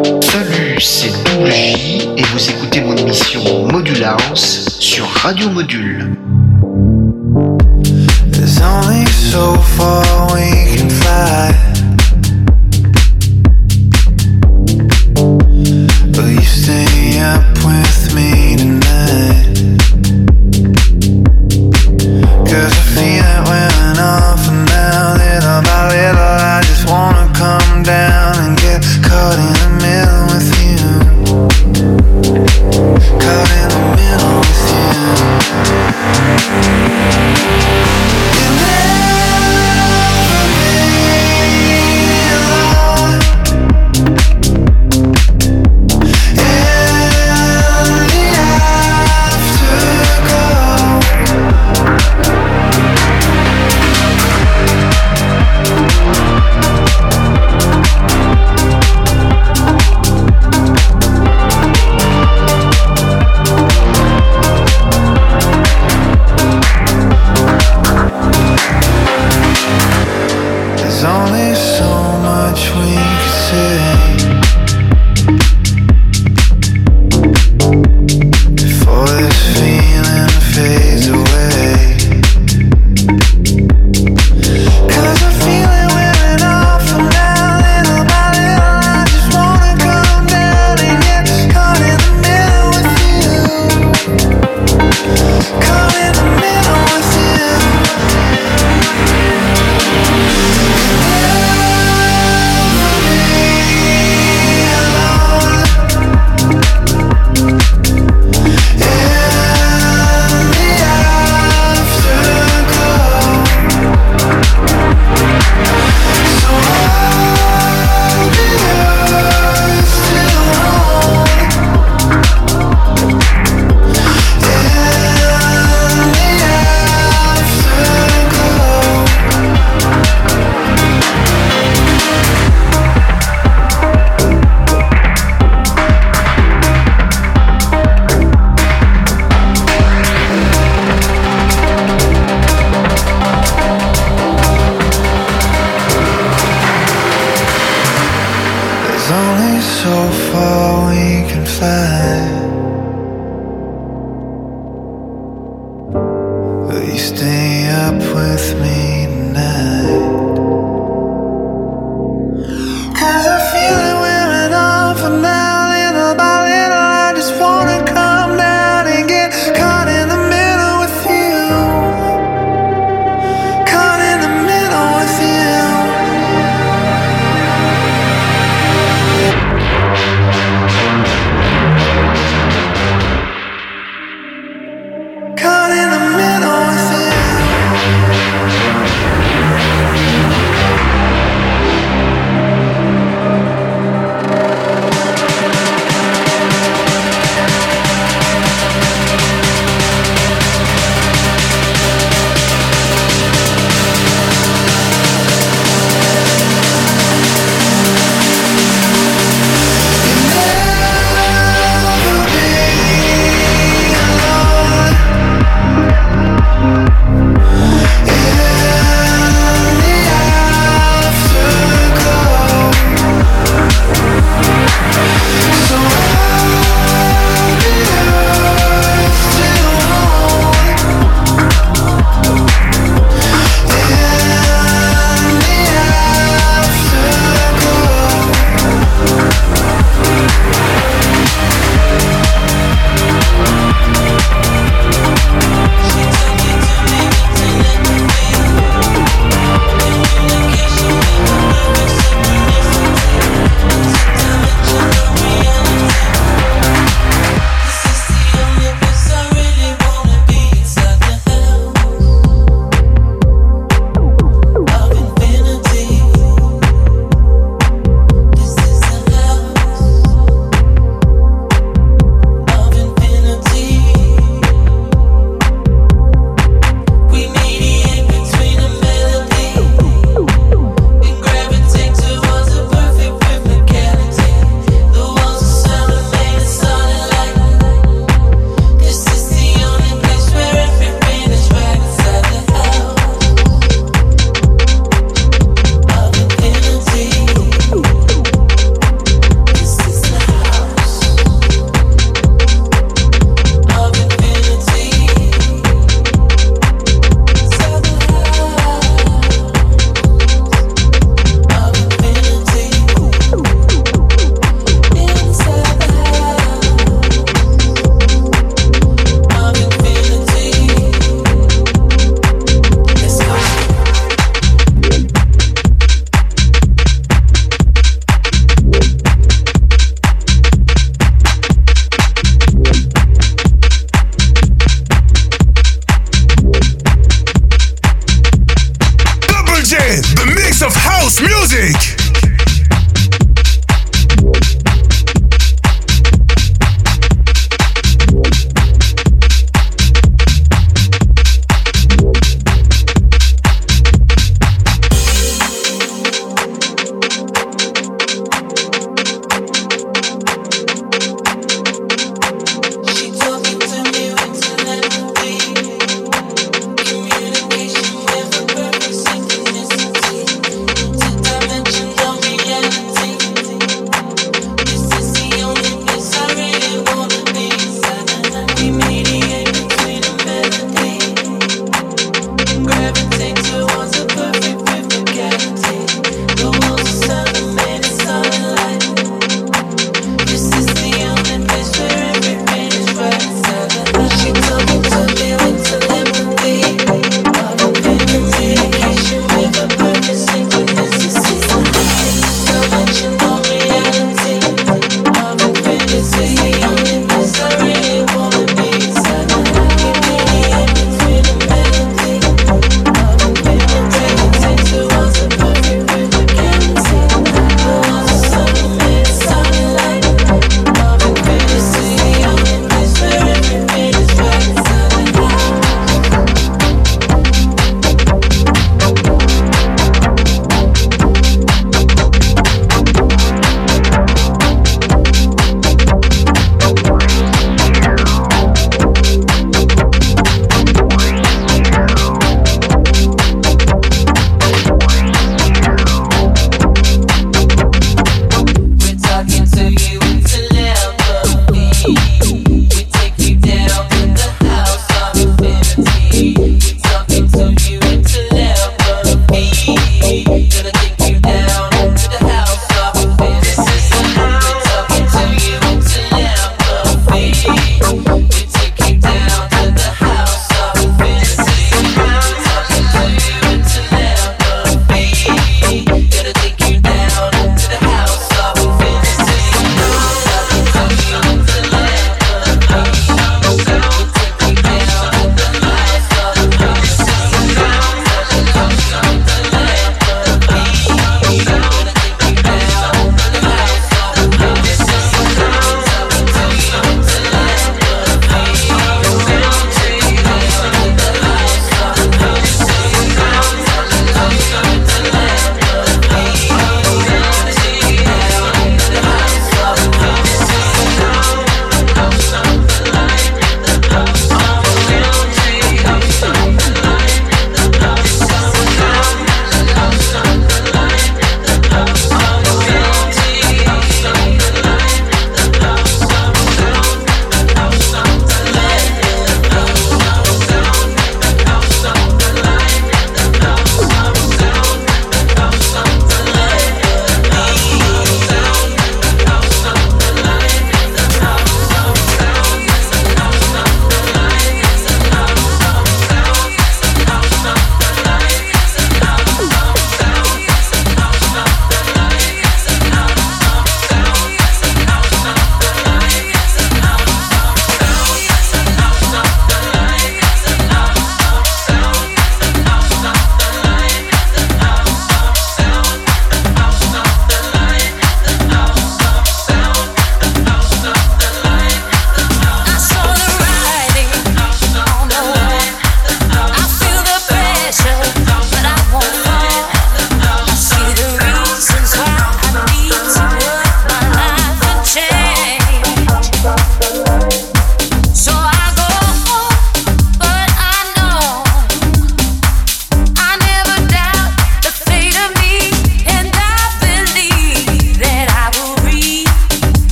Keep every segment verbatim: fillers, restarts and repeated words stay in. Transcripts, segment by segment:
Salut, c'est Double J et vous écoutez mon émission Module House sur Radio Module. There's only so far we can fly. Will you stay up with me tonight? 'Cause I feel it wearing off and now, little by little, I just wanna come down and get caught in the middle with you. Caught in the middle with you. You'll never be alone. In the afterglow. There's only so much we can say before this feeling fades away. 'Cause I feel it wearing off from now, little by little, I just wanna come down and get caught in the middle with you. Caught in the middle with you. There's only so far we can fly. Will you stay up with me tonight? 'Cause I feel it wearing off and now, little by little, I just wanna come down and get caught in the middle with you. Caught in the middle with you.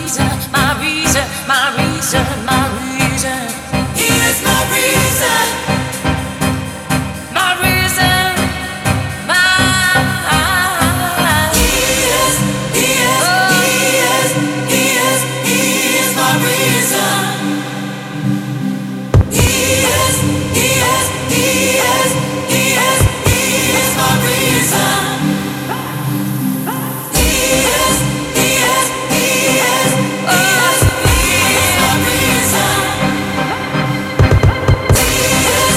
He is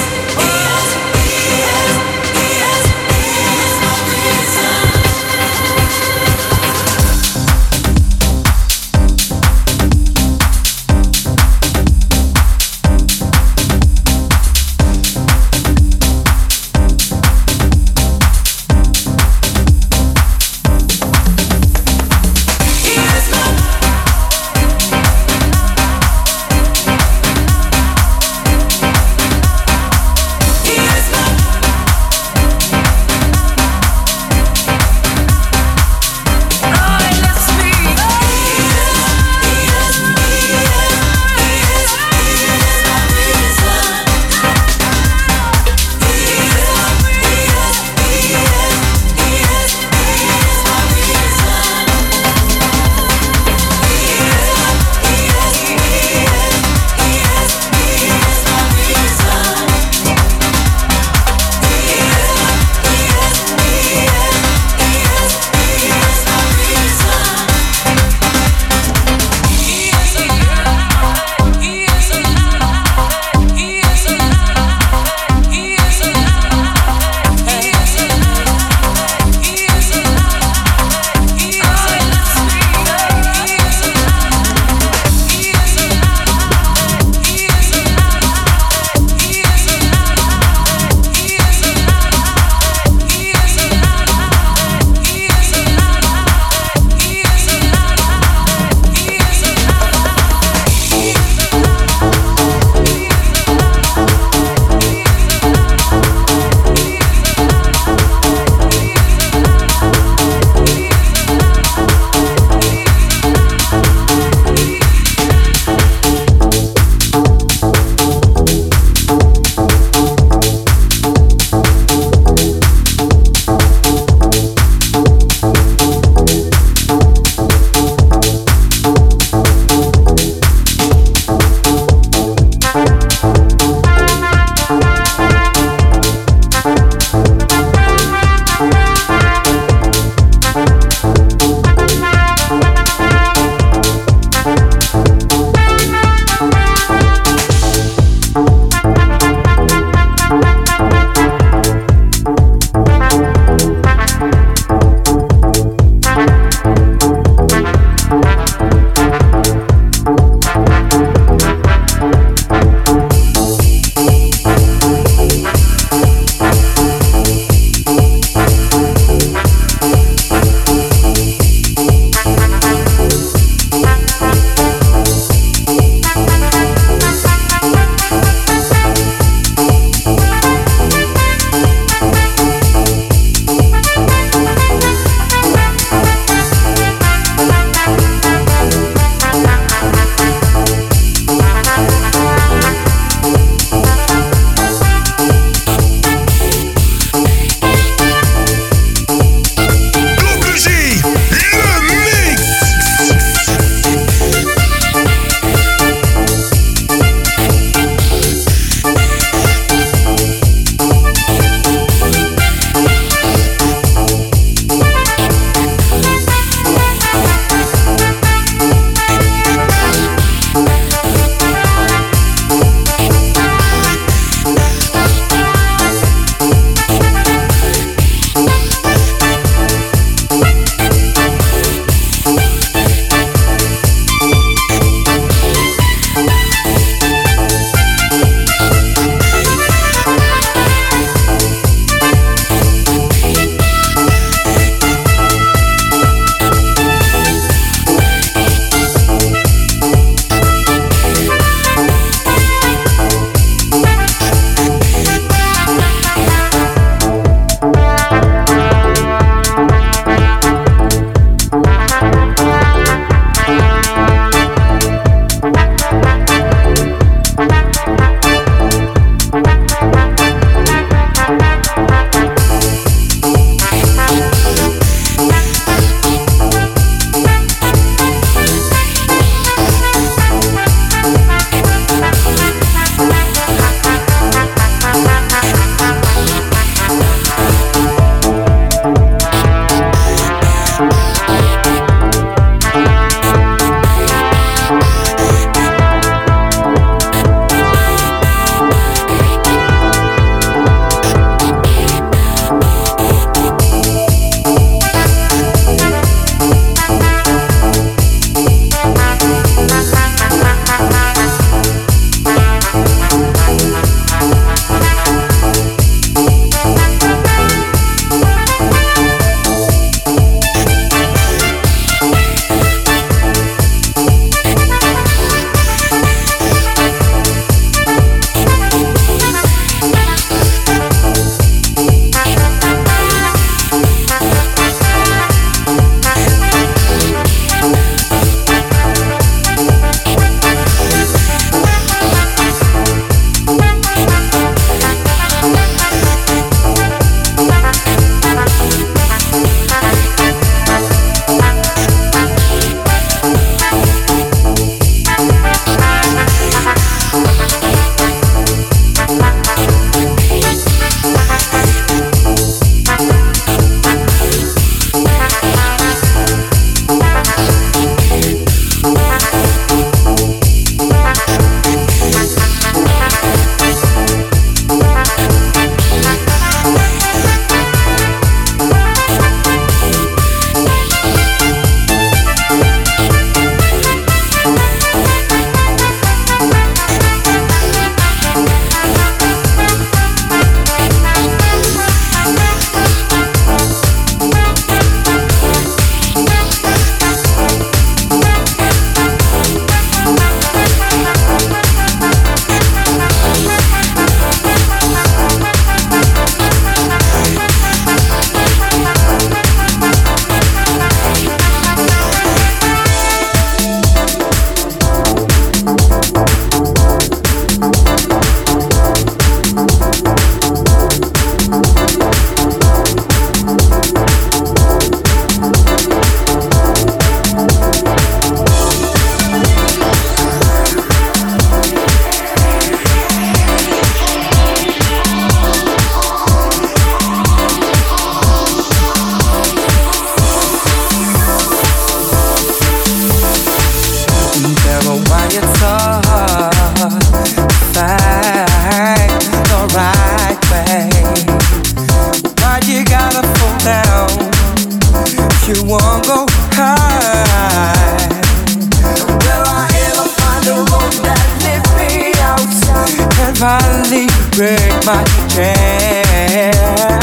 finally break my chain.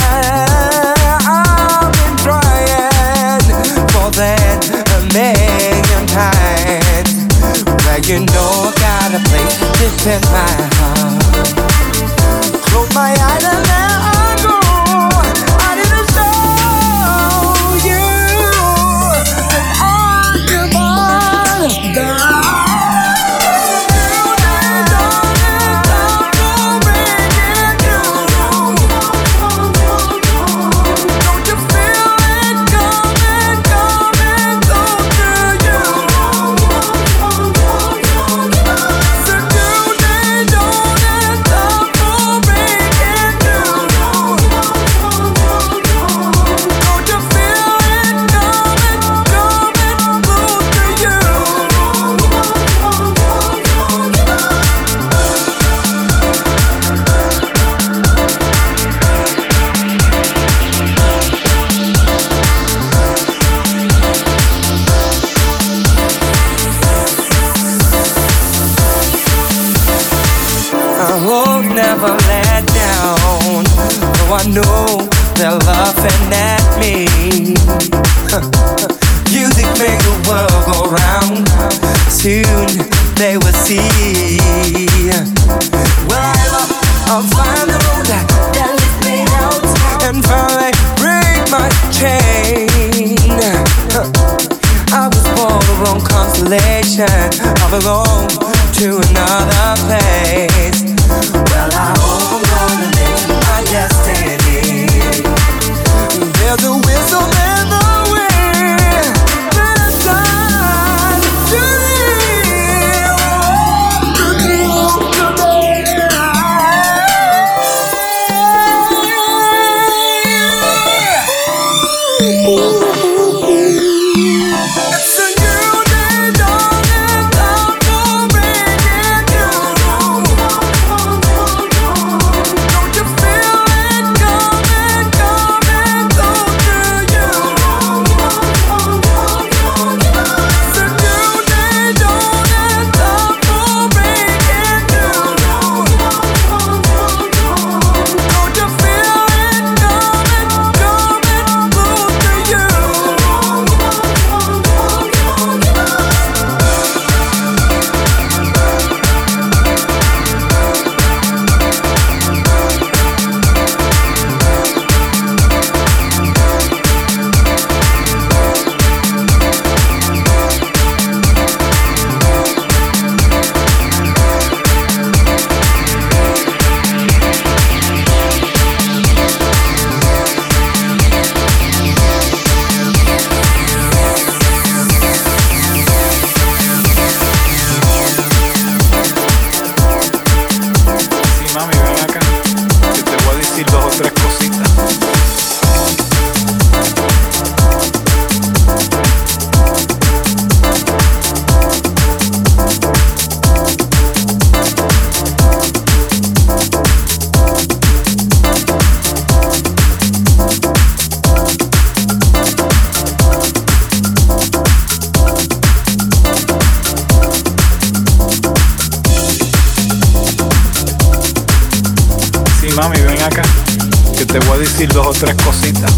I've been trying more than a million times. Well, you know I got a place deep in my heart. Close my eyes and there I go. I didn't show you that I give all the never let down. Though I know they're laughing at me. Music make the world go round. Soon they will see. Well, I'll find the road that leads me out and finally break my chain. I was born the wrong constellation. I belong to another place. Well, I hope I'm gonna live my destiny. There's a whistle in the wind, but it's time to leave. It's a new day dawning, time to bring it down. Don't you feel it coming, coming close to you? It's a new day dawning, time to bring it down. Don't you feel it coming, coming close to you? Sí, mami, ven acá, que te voy a decir dos o tres cositas. Sí, mami, ven acá, que te voy a decir dos o tres cositas.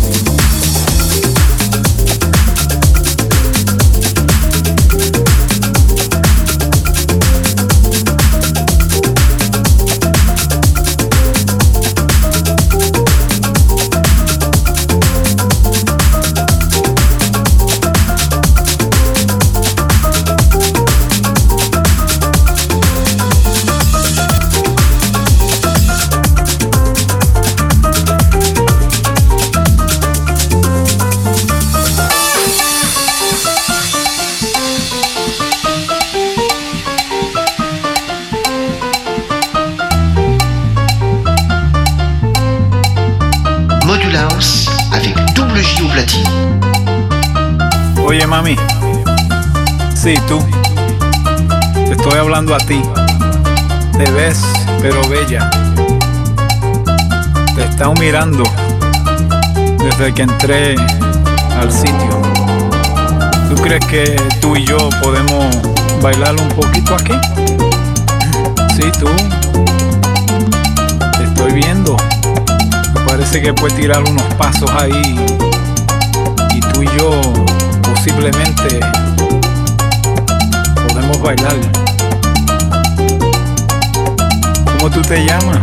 Module House avec double J au platine. Oye, mami, sí, tú, te estoy hablando a ti. Te ves, pero bella. Te he estado mirando desde que entré al sitio. ¿Tú crees que tú y yo podemos bailar un poquito aquí? Sí, tú. estoy viendo. Me parece que puedes tirar unos pasos ahí y tú y yo posiblemente podemos bailar. ¿Cómo tú te llamas?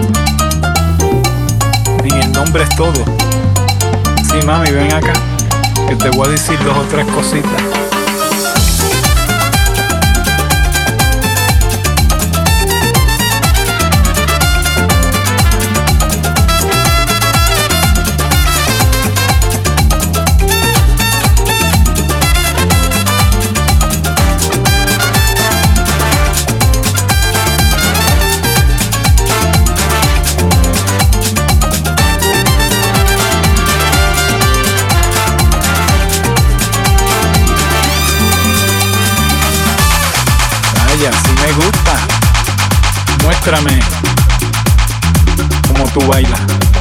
En el nombre es todo. Sí, mami, ven acá, que te voy a decir dos o tres cositas. Si me gusta, muéstrame cómo tú bailas.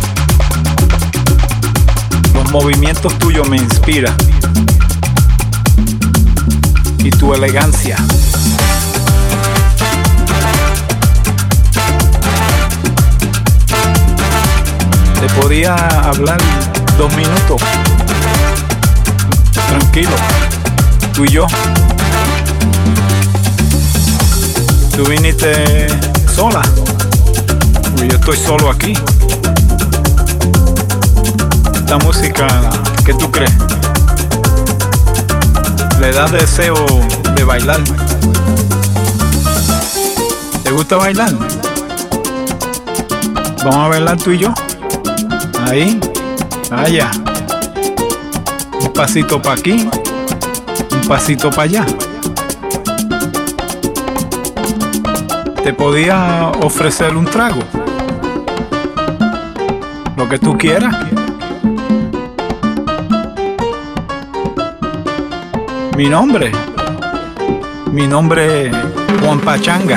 Los movimientos tuyos me inspiran y tu elegancia. Te podía hablar dos minutos, tranquilo, tú y yo. Tú viniste sola, y yo estoy solo aquí. Esta música, ¿qué tú crees? Le da deseo de bailar. ¿Te gusta bailar? Vamos a bailar tú y yo. Ahí, allá. Un pasito para aquí, un pasito para allá. Te podía ofrecer un trago, lo que tú quieras. Mi nombre, mi nombre es Juan Pachanga.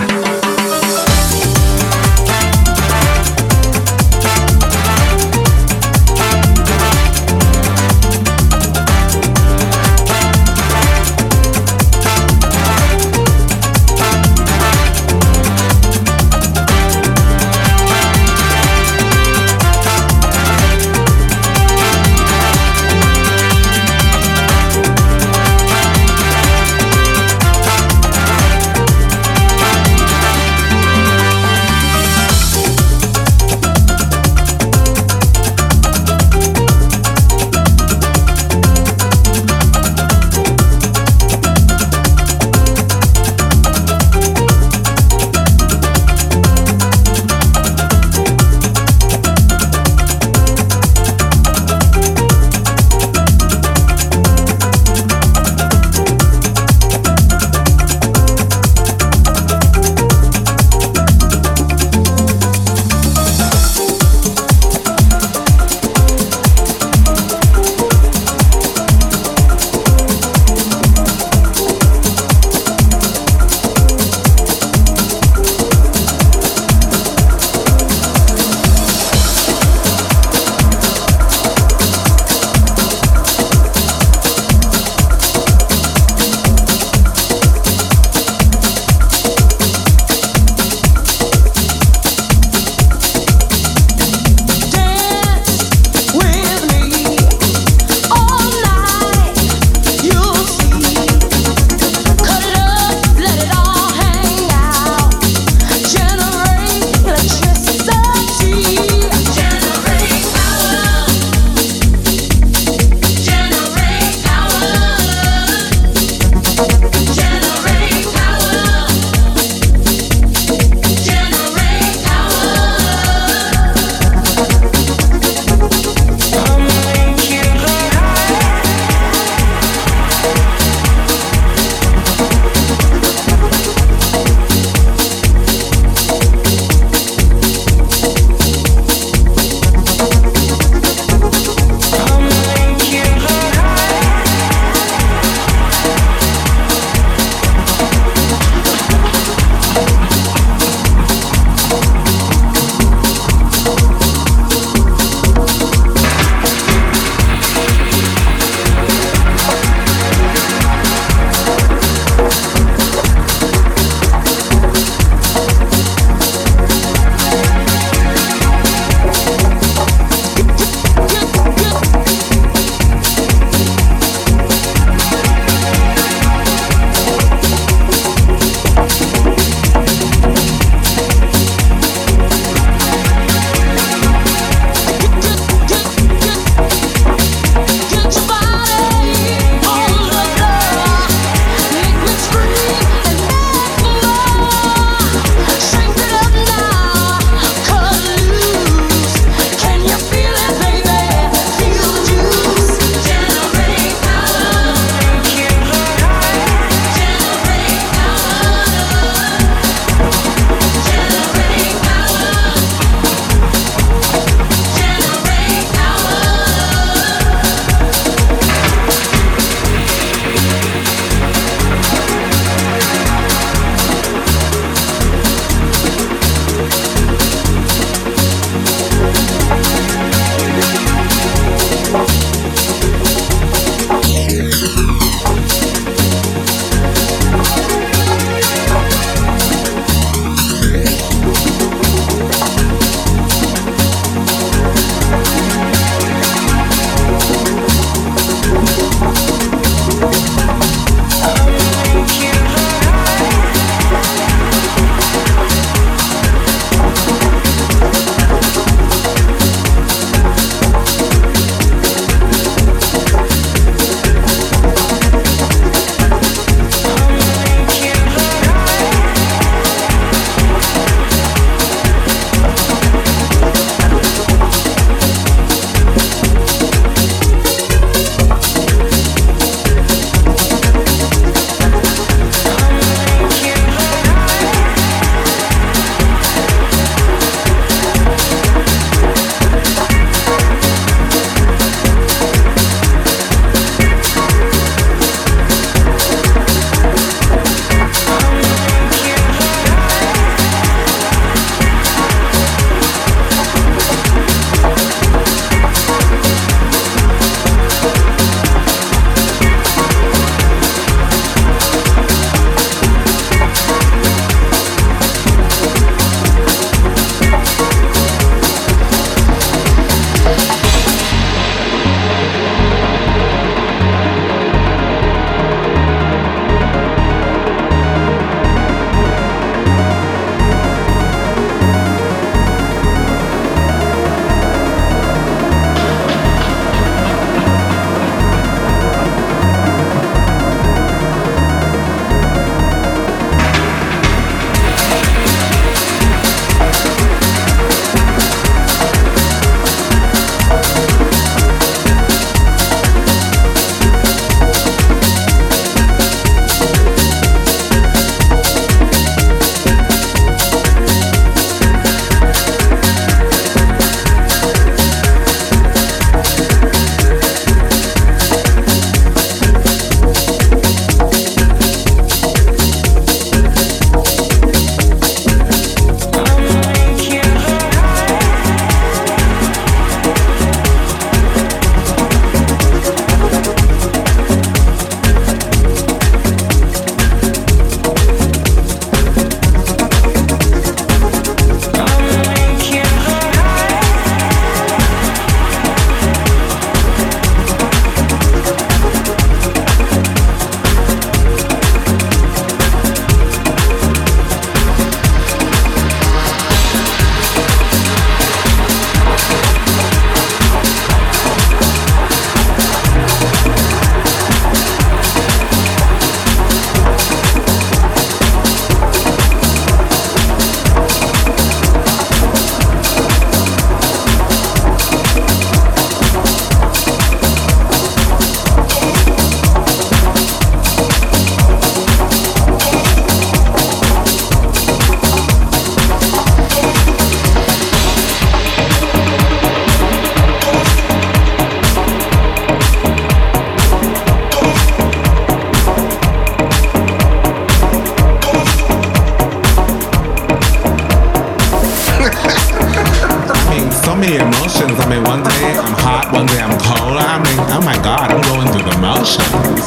many emotions. I mean, one day I'm hot, one day I'm cold. I mean, oh my God, I'm going through the motions.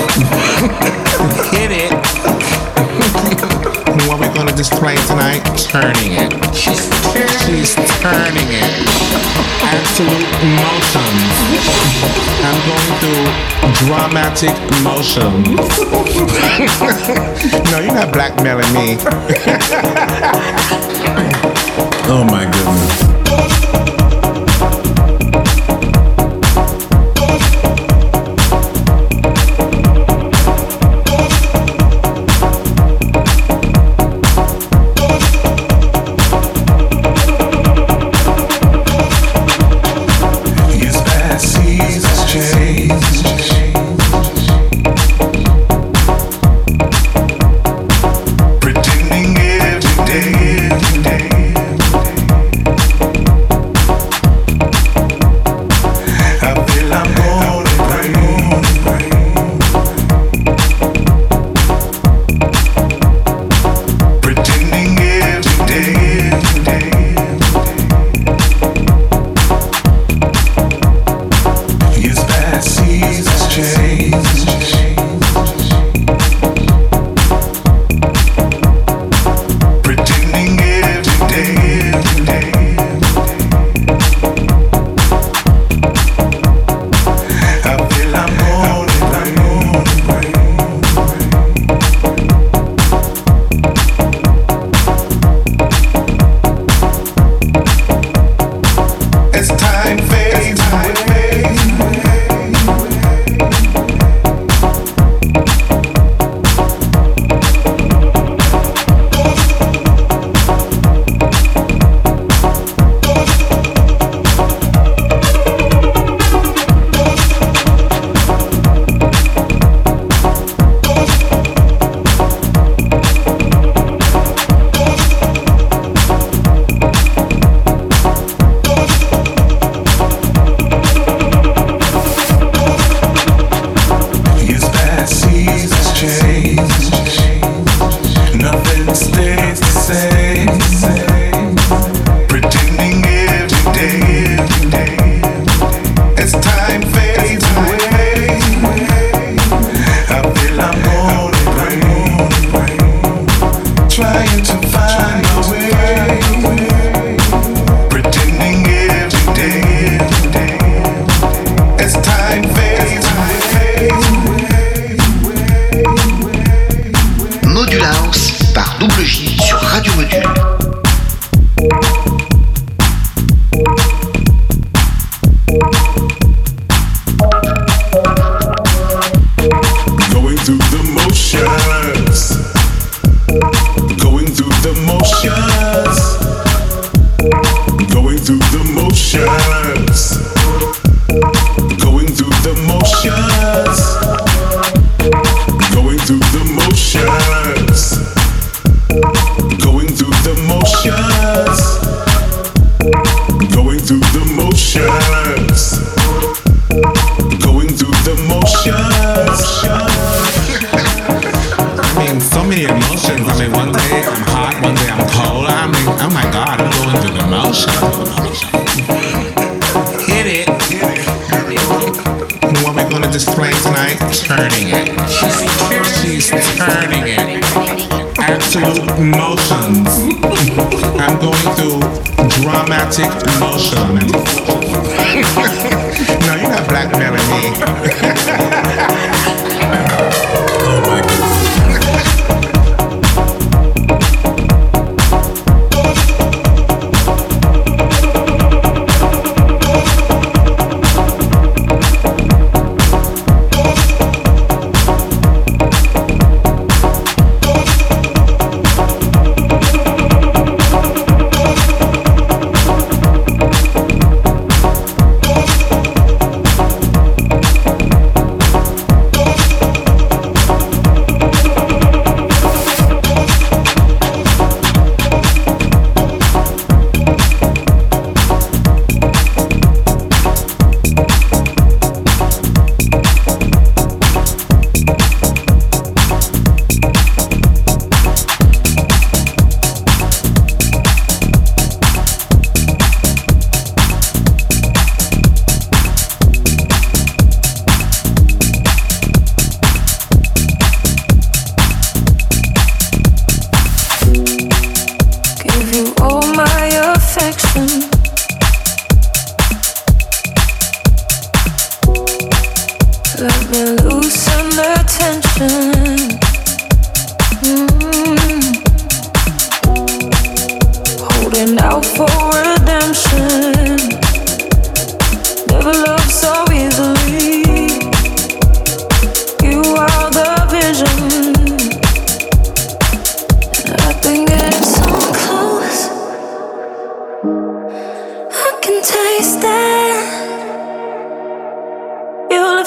Hit it. What we're gonna display tonight? Turning it. She's turning, She's turning it. Absolute emotions. I'm going through dramatic emotions. No, you're not blackmailing me. Oh my goodness.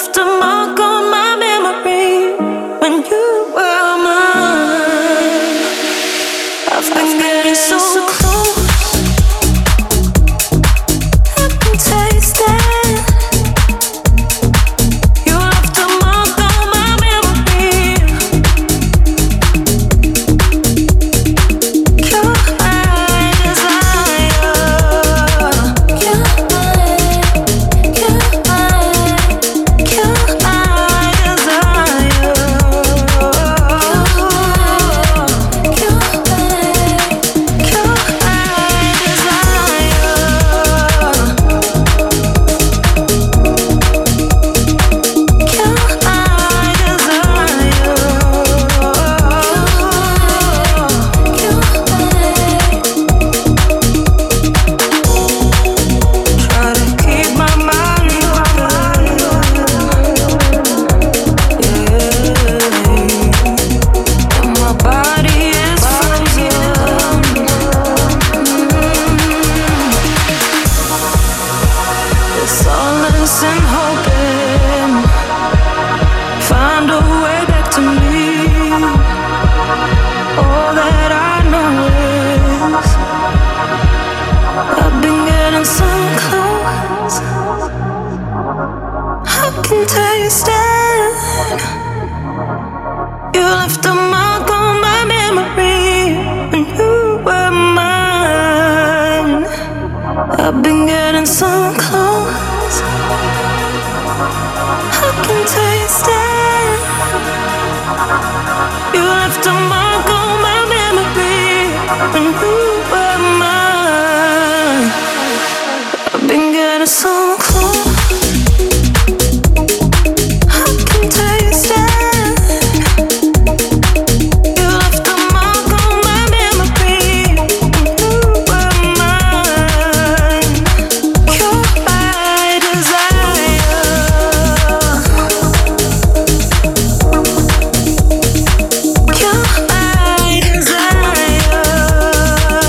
left a mark on my memory when you were mine. I've been getting so close, I can taste it. You left a mark on my memory. You're my desire. You're my, you're my, you're my desire. You're and hoping, find a way back to me. All that I know is I've been getting so close, I can taste it. You left a mark on my memory when you were mine. I've been getting so close, I can taste it. You left a mark on my memory when you were mine. I've been getting so close, I can taste it. You left a mark on my memory when you were mine. You're my desire. You're my desire.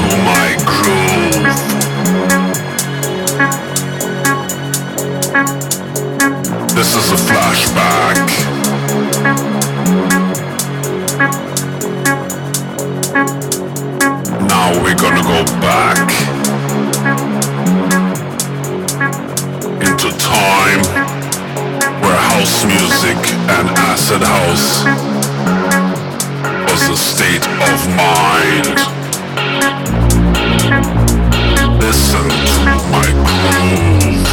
to my groove. This is a flashback. Now we're gonna go back into time where house music and acid house was a state of mind. Listen to my groove.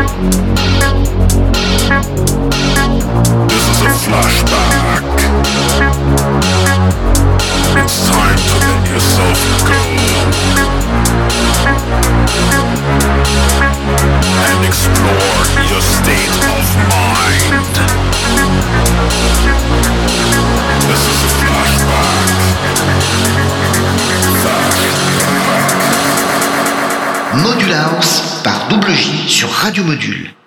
This is a flashback. It's time to let yourself go and explore your state of mind. This is a flashback. Flashback. Module House par Double J sur Radio Module.